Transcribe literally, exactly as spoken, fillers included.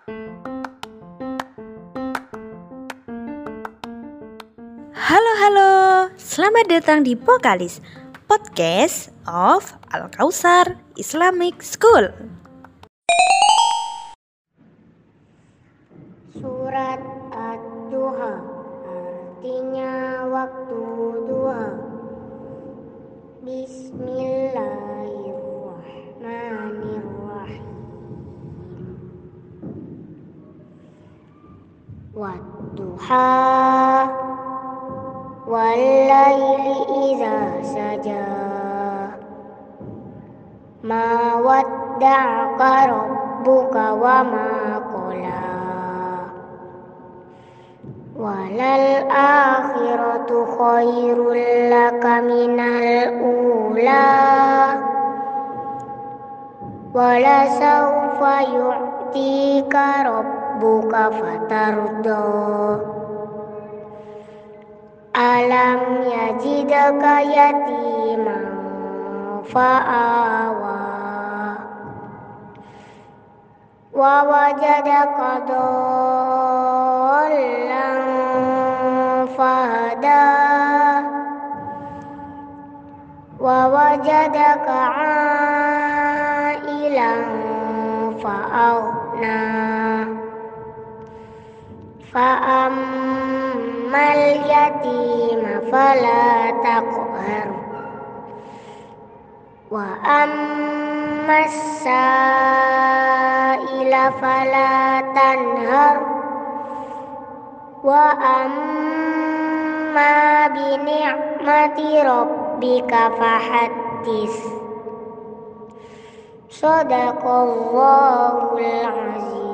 Halo halo, selamat datang di Pokalis, Podcast of Al-Kausar Islamic School. Surat Ad-Duha, artinya waktu duha. Bismillahirrahmanirrahim. Wad-duha wal-laili idza saja. Ma wadda'aka rabbuka wa ma qala. Walal akhiratu khairul laka minal ula. Wala sawfa yu'tika rabbuka fatarda. Alam yajidaka yatiman fa'awa. Wa wajadaka dhallan fahada. Wa wajadaka ailan fa'aghna. Fa'ammal yatima fala taqhar. Wa ammas sa'ila fala tanhar. Wa amma bi ni'mati rabbika fahaddits. Shadaqallahul azim.